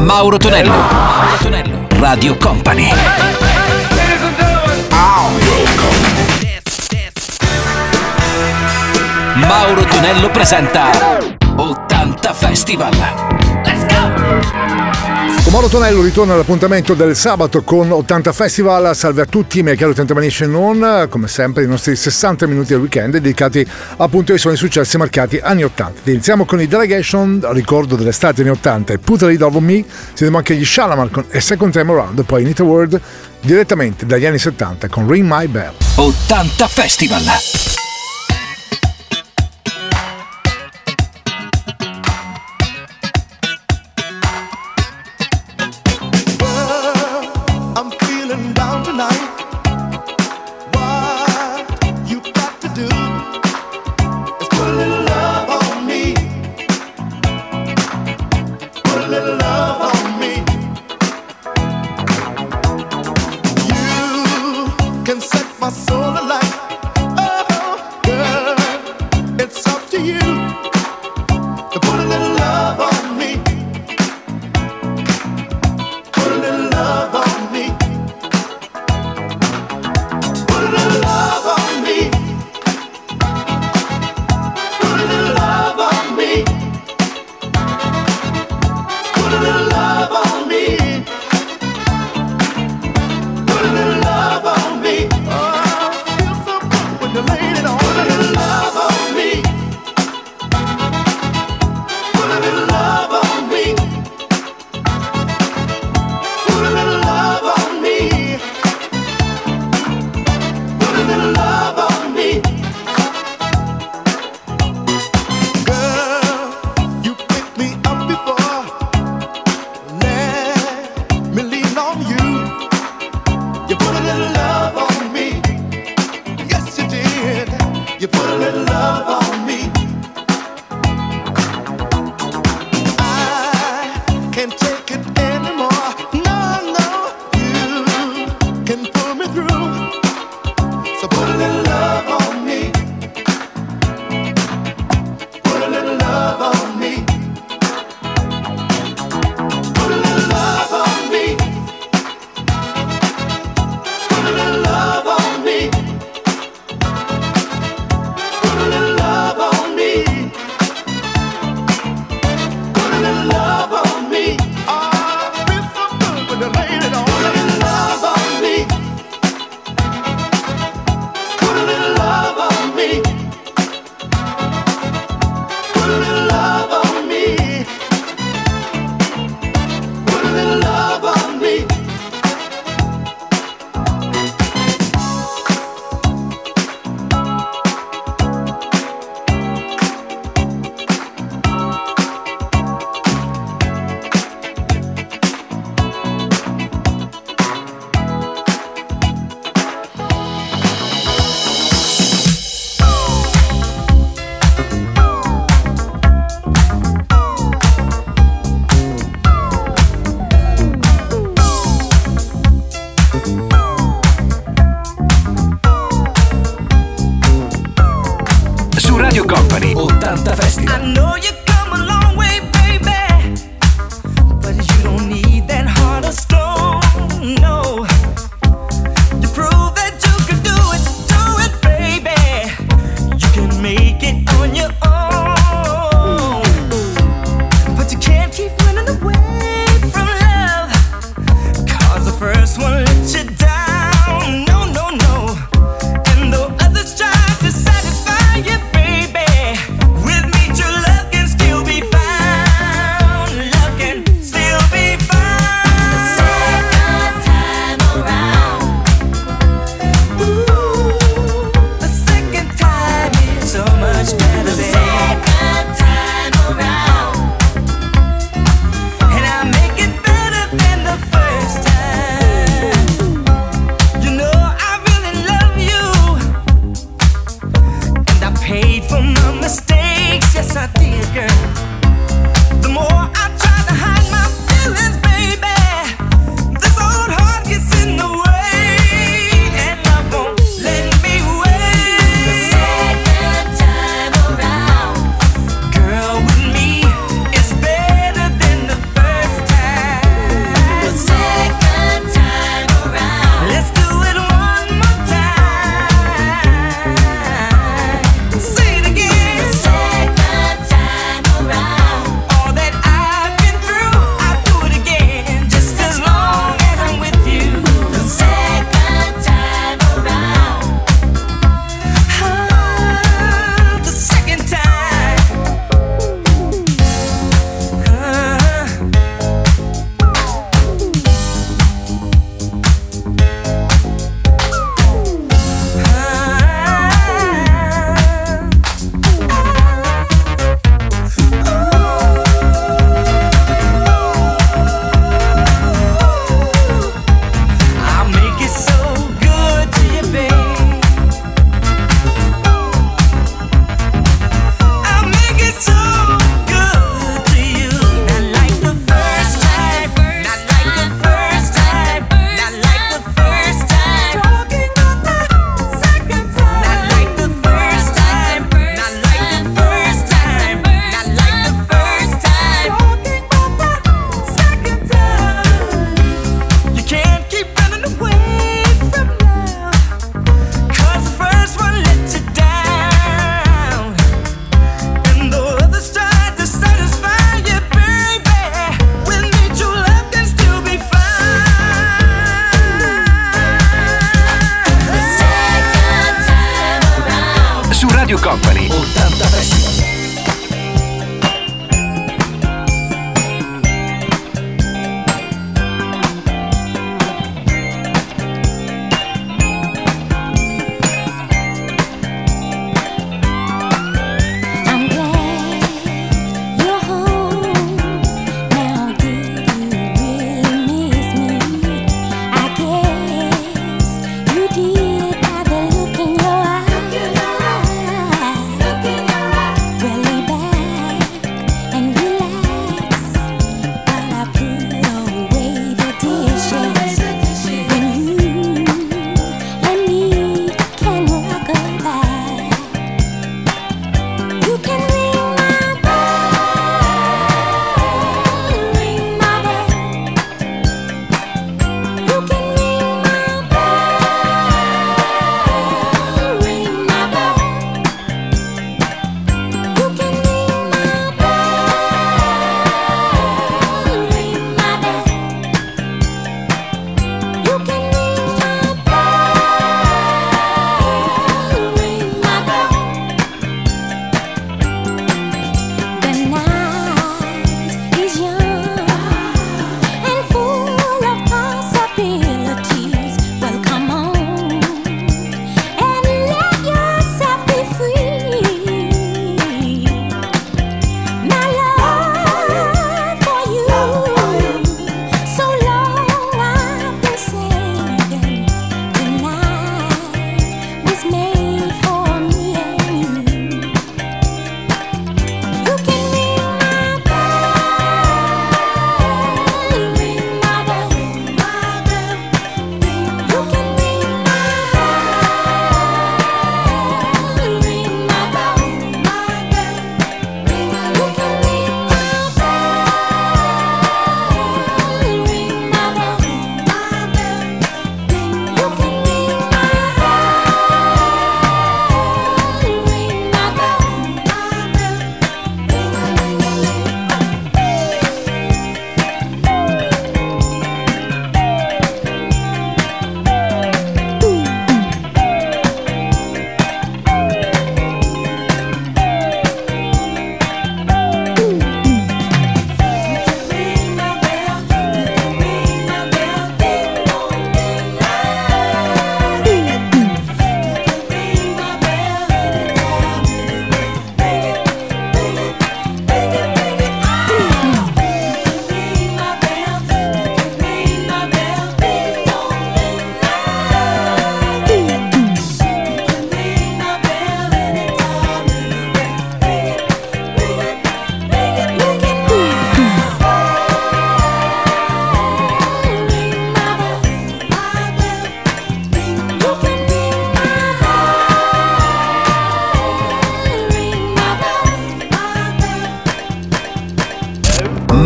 Mauro Tonello. Mauro Tonello. Radio Company. Mauro Tonello presenta 80 Festival. Let's go! Con Mauro Tonello ritorna all'appuntamento del sabato con 80 Festival. Salve a tutti, miei cari 80 Nation On. Come sempre i nostri 60 minuti del weekend dedicati appunto ai suoni successi marcati anni 80. Iniziamo con i Delegation, ricordo dell'estate anni 80 e Put a Lid Over Me. Sentiamo anche gli Shalamar con A Second Time Around e poi Need a Word direttamente dagli anni 70 con Ring My Bell. 80 Festival.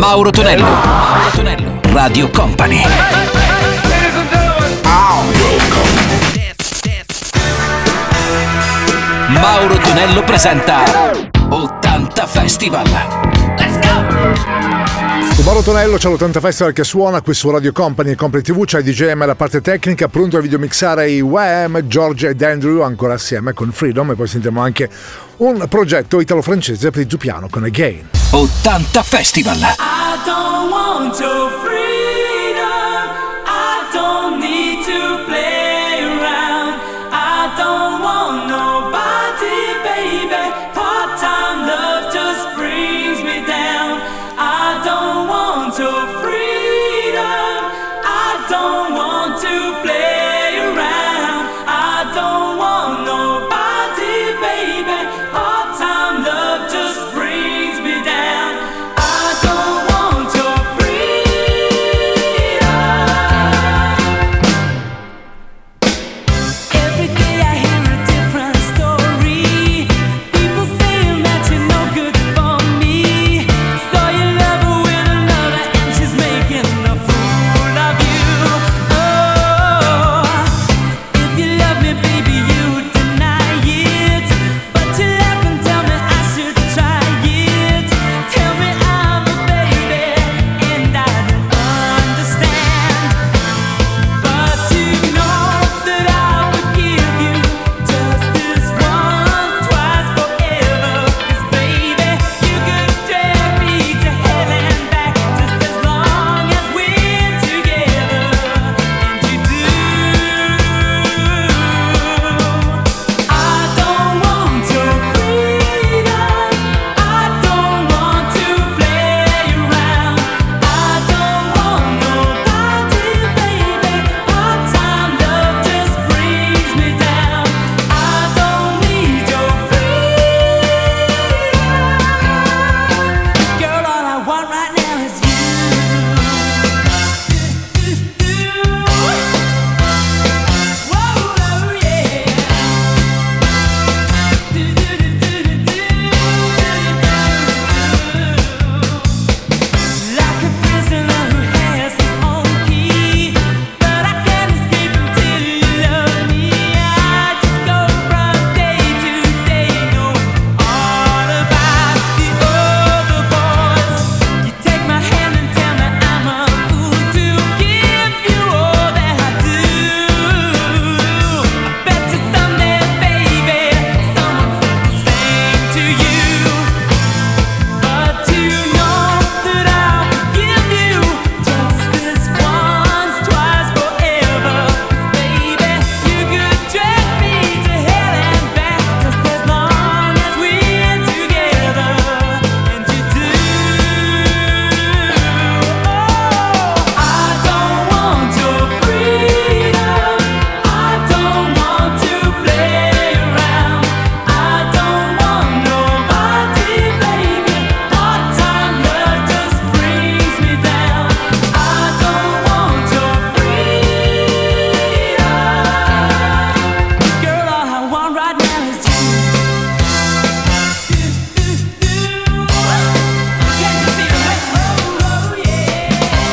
Mauro Tonello. Mauro Tonello. Radio Company. Mauro Tonello presenta 80 Festival. Let's go! Mauro Tonello, c'è l'80 Festival che suona qui su Radio Company e Company TV, c'è il DJM alla parte tecnica, pronto a videomixare i Wham, George ed Andrew ancora assieme con Freedom, e poi sentiremo anche un progetto italo-francese per il tuo piano con Again. 80 Festival. I don't want your freedom, I don't need to play around, I don't want nobody, baby, part-time love just brings me down. I don't want your freedom, I don't want to play around, I don't want nobody, baby, part-time love just brings me down. I don't want your freedom. Every day I hear a different story, people saying that you're no good for me. Saw you love her with another and she's making a fool of you. Oh, if you love me, baby, you deny it, but you laugh and tell me I should try it. Tell me I'm a baby and I don't understand, but you know that I would give you just this once, twice, forever. 'Cause baby, you could drag me to hell and back just as long as we're together, and you do. I don't want your freedom, I don't want to play around, I don't want nobody, baby, part-time love just brings me down. I don't need your freedom, girl, all I want right now is you. Whoa, yeah. Like a prisoner who has his own key, but I can't escape until you love me. I just go from day to day, know all about the other boys. You take my hand and tell me I'm a fool to give you all that I do. I bet you someday, baby, someone says the same to you. But you know that I would give you just this once, twice, forever. 'Cause baby, you could drag me to hell and back just as long as we're together, and you do. Oh, I don't want your freedom, I don't want to play around, I don't want nobody, baby, part-time love just brings me down. I don't want your freedom, girl, all I want right now is you. Can you see the way? Oh, yeah.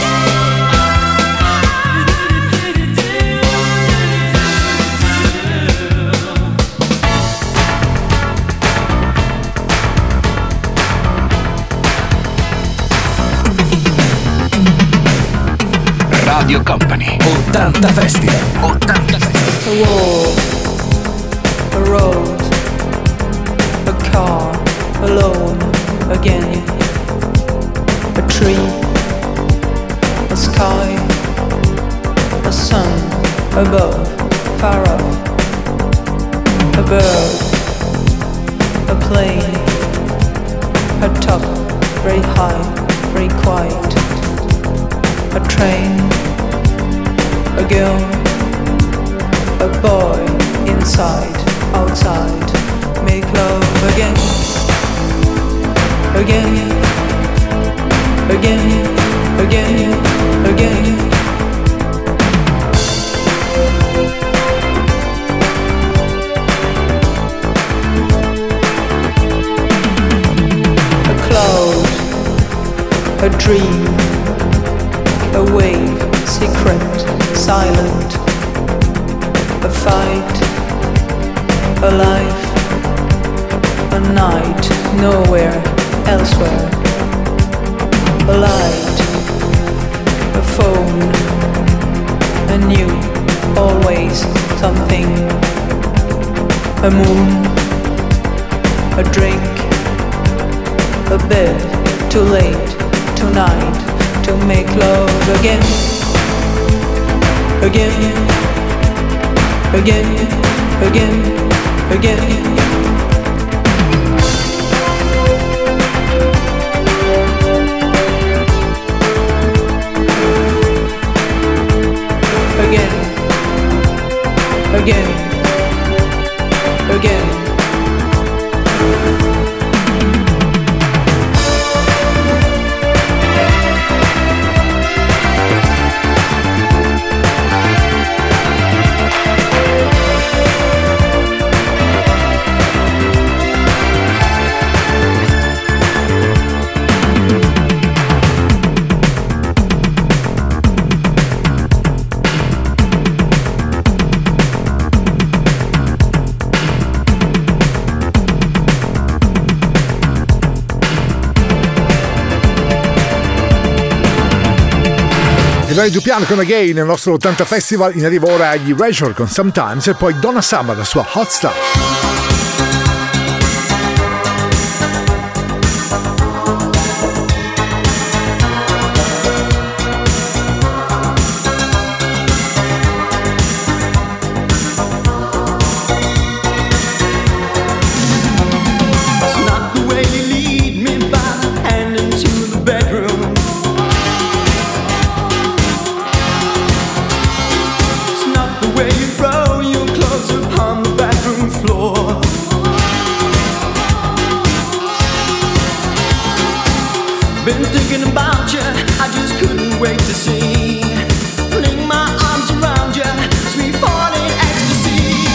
Radio Company. 80 Festival. 80 Festival. A wall, a road, a car, alone again, a tree, a sky, a sun above, far off, a bird, a plane, a top, very high, very quiet, a train, a girl, a boy, inside, outside, make love again, again, again, again, again. A cloud, a a dream, a wave, secret, silent, a fight, a life, a night, nowhere, elsewhere, a light, a phone, a new, always something, a moon, a drink, a bed, too late, tonight, to make love again, again, again, again, again. Again, again. Ivani Dupiano con Again nel nostro 80 Festival. In arrivo ora agli Erasure con Sometimes e poi Donna Summer, la sua Hot Stuff. Been thinking about you, I just couldn't wait to see. Fling my arms around you, sweet falling ecstasy.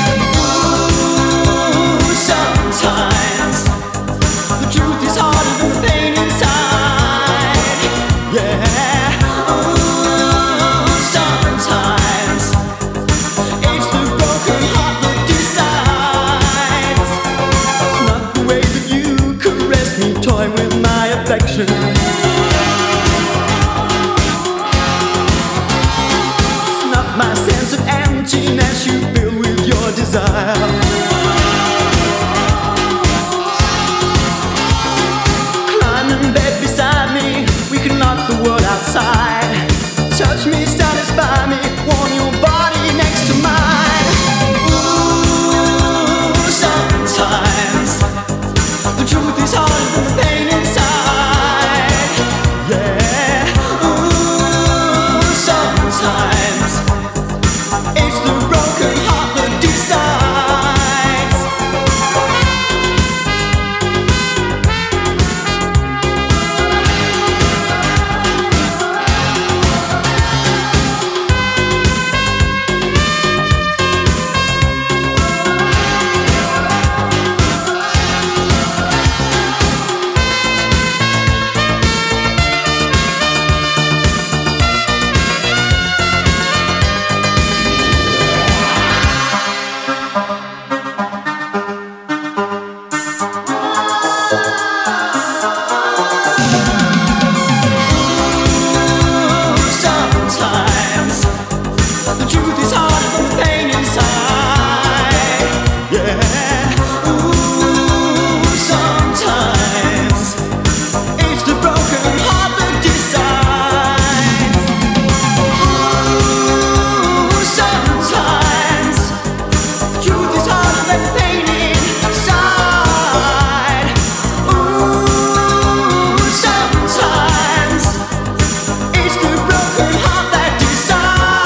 Ooh, sometimes the truth is harder than the pain inside. Yeah. Ooh, sometimes it's the broken heart that decides. It's not the way that you caress me, toy with my affection. It's not my sense of emptiness you fill with your desire. Climb in bed beside me, we can lock the world outside. Touch me, satisfy me, warm your body next to mine. Ooh, sometimes the truth is harder than the pain inside. Yeah. Ooh, sometimes it's the broken heart that decides. Sometimes the truth is harder than the pain inside. Yeah. Ooh, sometimes it's the broken heart that decides. Ooh, sometimes the truth is harder than the pain inside. Ooh, sometimes it's the broken heart that decides.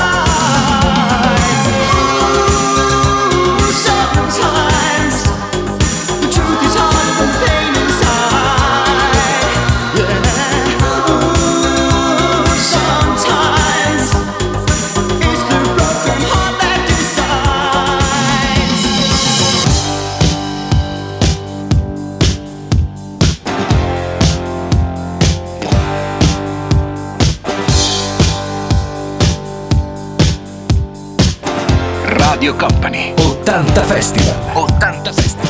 Ooh, sometimes the truth is harder than the pain inside. Yeah. Ooh, sometimes it's the broken heart that decides. Radio Company 80 Festival. 80 Festival.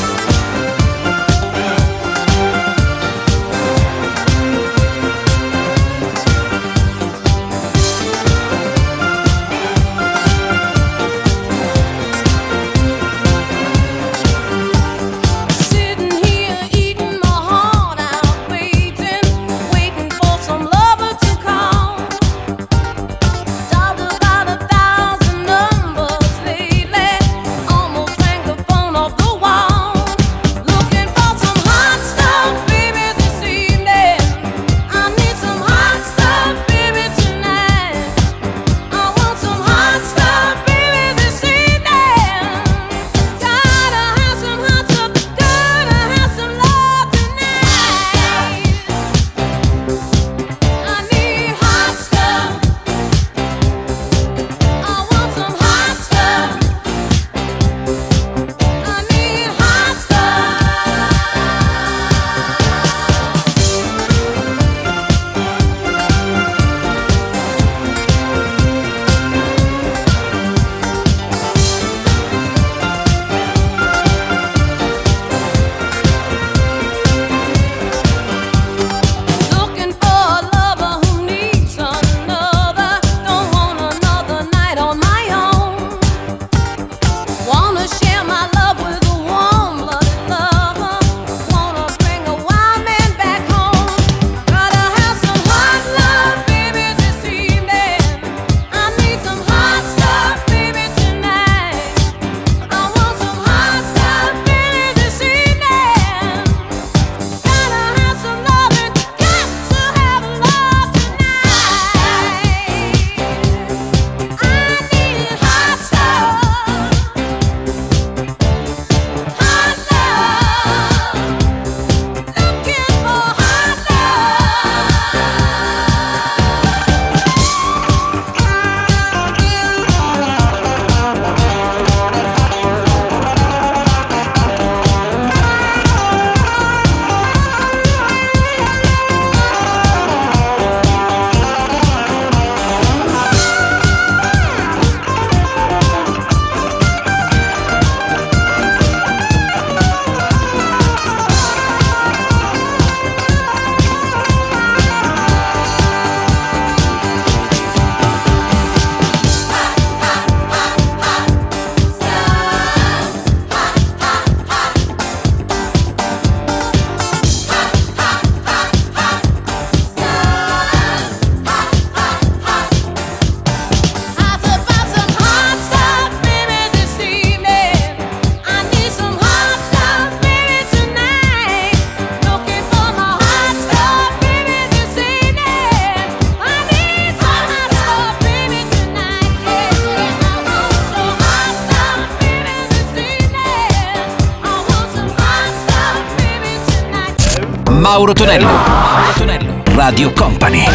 Mauro Tonello. Mauro Tonello. Radio Company.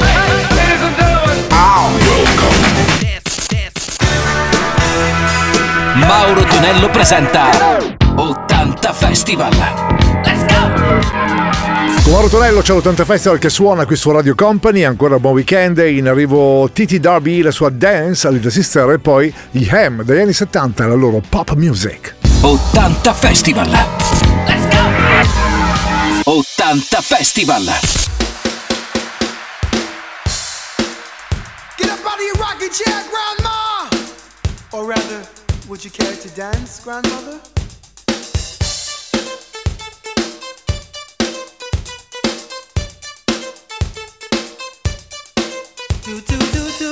Mauro Tonello presenta 80 Festival. Let's go! Con Mauro Tonello c'è l'80 Festival che suona qui su Radio Company. Ancora buon weekend. In arrivo Titi Darby, la sua Dance, a Little Sister, e poi gli Ham dagli anni 70, la loro pop music. 80 Festival. Let's go! 80 Festival. Get up out of your rocking chair, Grandma! Or rather, would you care to dance, Grandmother? Do, do, do, do.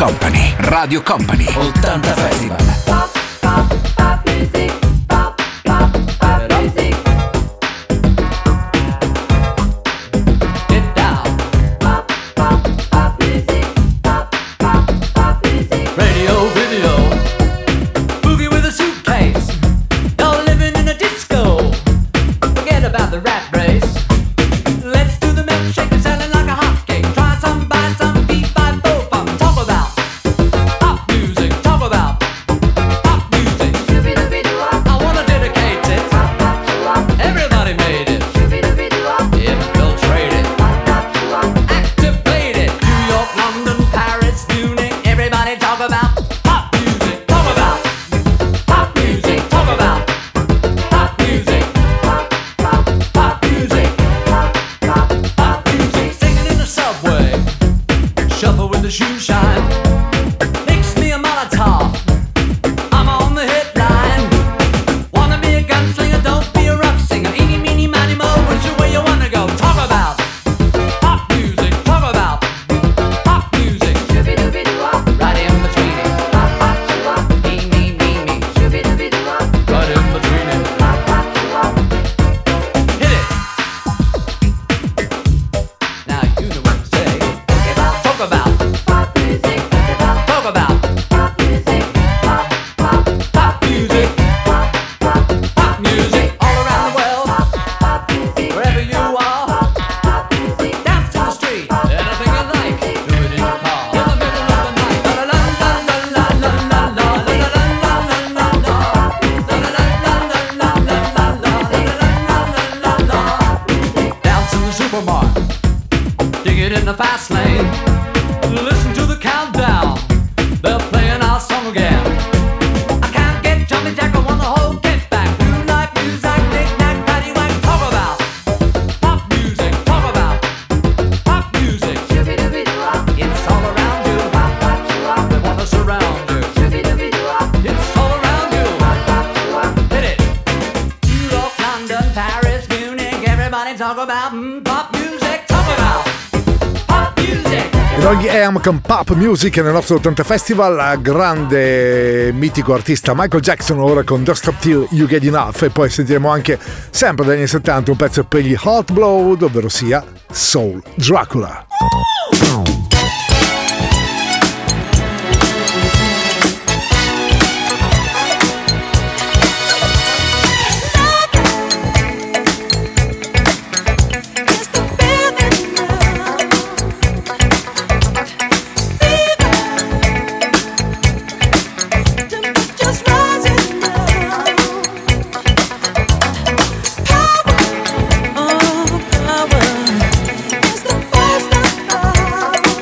Company, Radio Company, 80 Festival. Con Pop Music nel nostro 80 Festival, grande mitico artista Michael Jackson, ora con Don't Stop Till You Get Enough, e poi sentiremo anche sempre dagli anni 70 un pezzo per gli Hot Blood, ovvero sia Soul Dracula. Power is the first of all.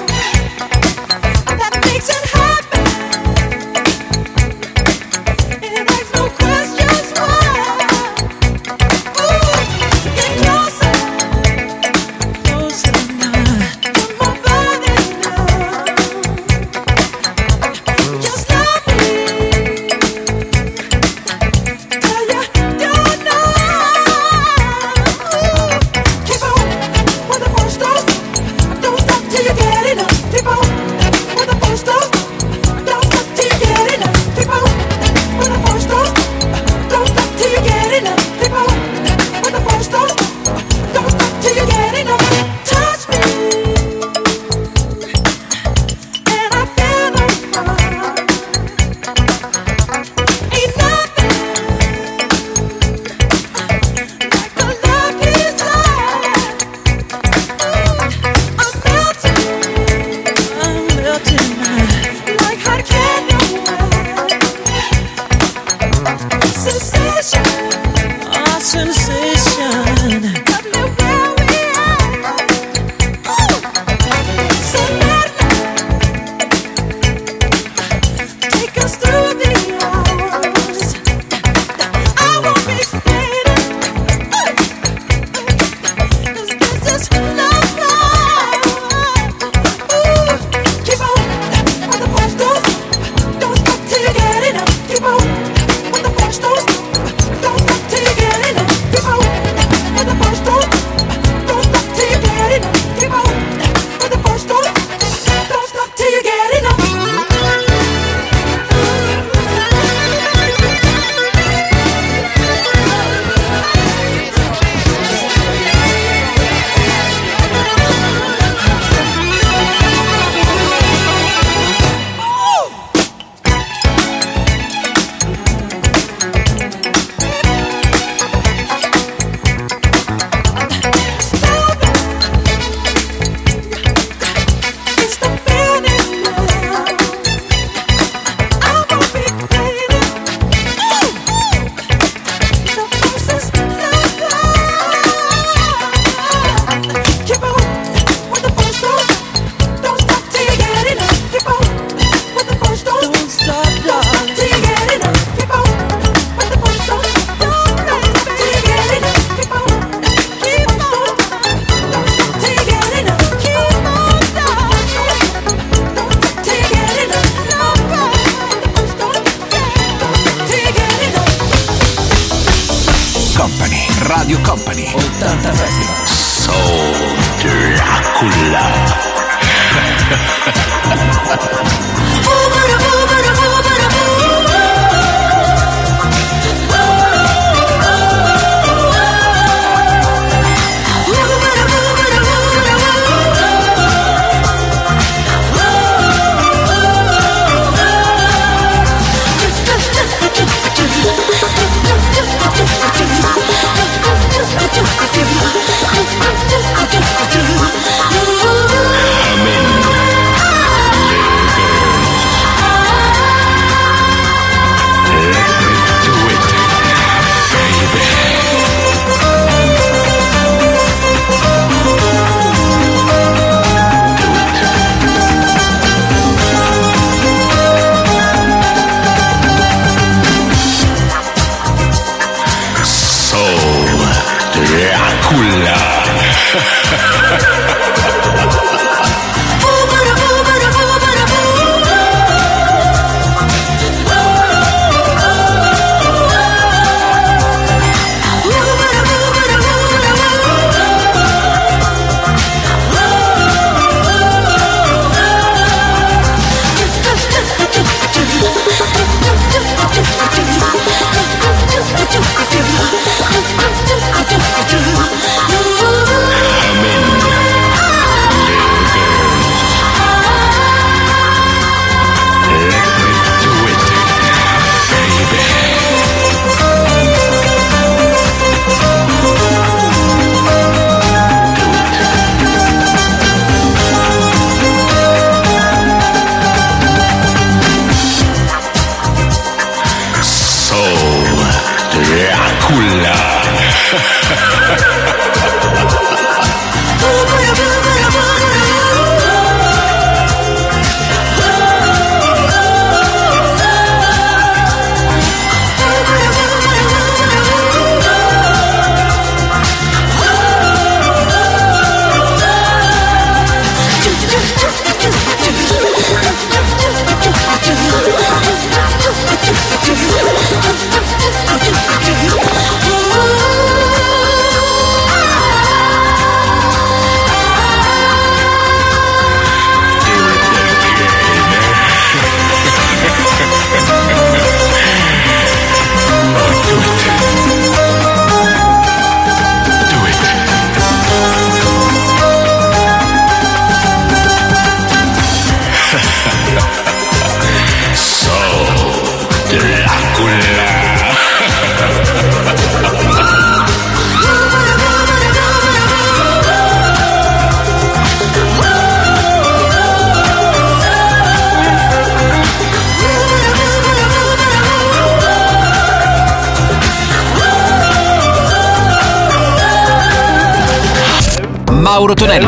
Mauro Tonello,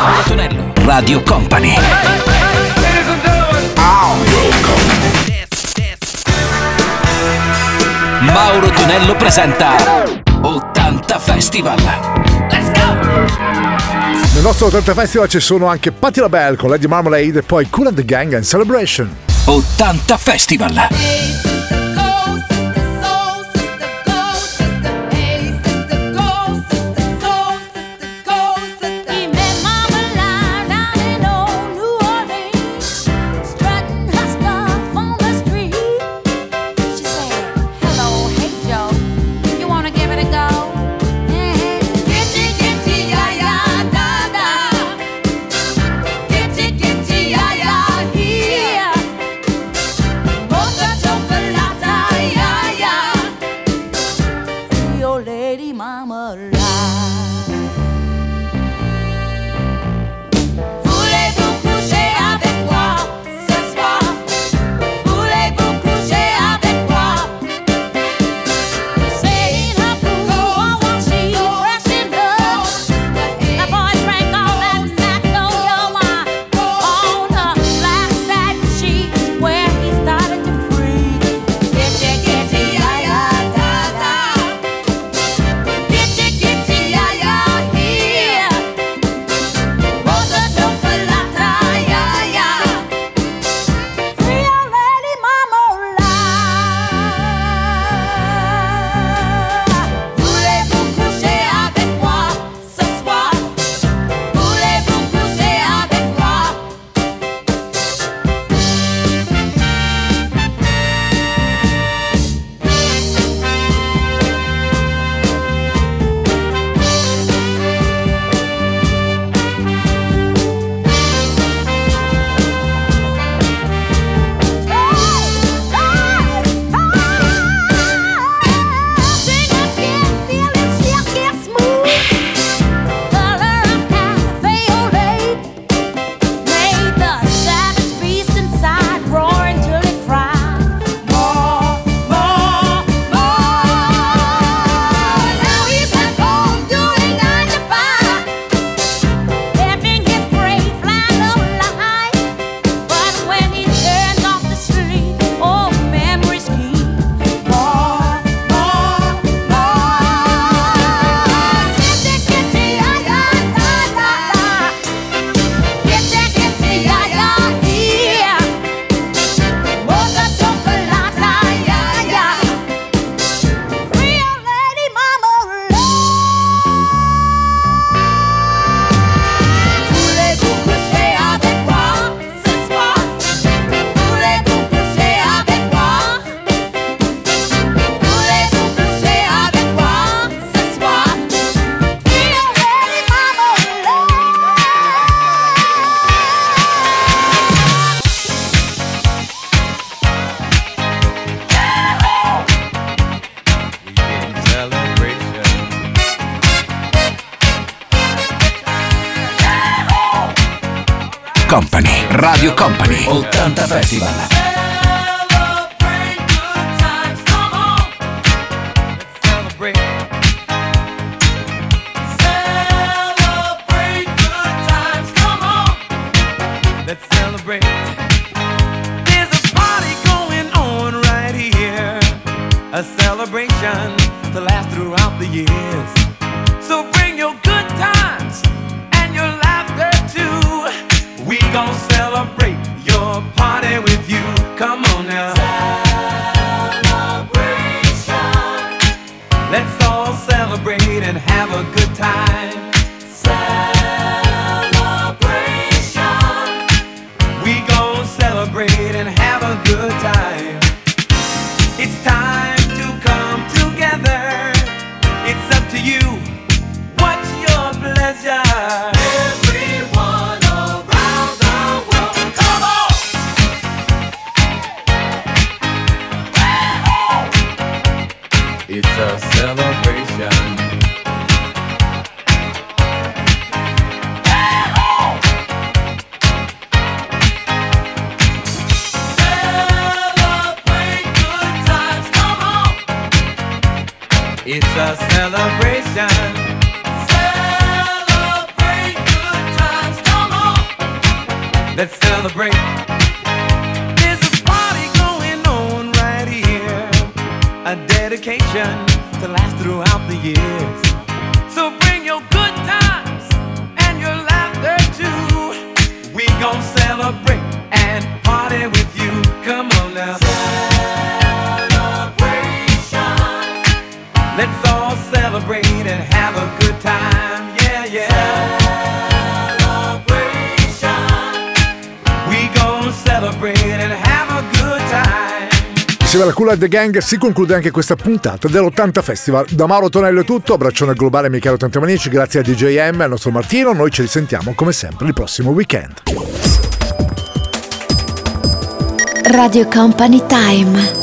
Radio Company. Mauro Tonello presenta 80 Festival. Let's go! Nel nostro 80 Festival ci sono anche Patti LaBelle con Lady Marmalade e poi Kool and the Gang and Celebration. 80 Festival. Chocolate. Company. Radio Company 80 Festival. A celebration to last throughout the years. So bring your good times and your laughter too. We gon' celebrate your party with you. Come on now. Celebration. Let's all celebrate and have a good time. Celebration. We gon' celebrate and have a good time. It's time to come together. It's up to you. What's your pleasure? Everyone around the world, come on! It's a celebration. It's a celebration. Celebrate good times, come on. Let's celebrate. There's a party going on right here. A dedication to last throughout the years. So bring your good times and your laughter too. We gon' celebrate and party with you. Come on now. Let's all celebrate and have a good time, yeah, yeah. Celebration. We gon' celebrate and have a good time. Insieme alla Kool and the Gang si conclude anche questa puntata dell'80 Festival. Da Mauro Tonello è tutto, abbraccione globale ai miei cari 80 manici, grazie a DJ M e al nostro Martino. Noi ci risentiamo come sempre il prossimo weekend. Radio Company Time.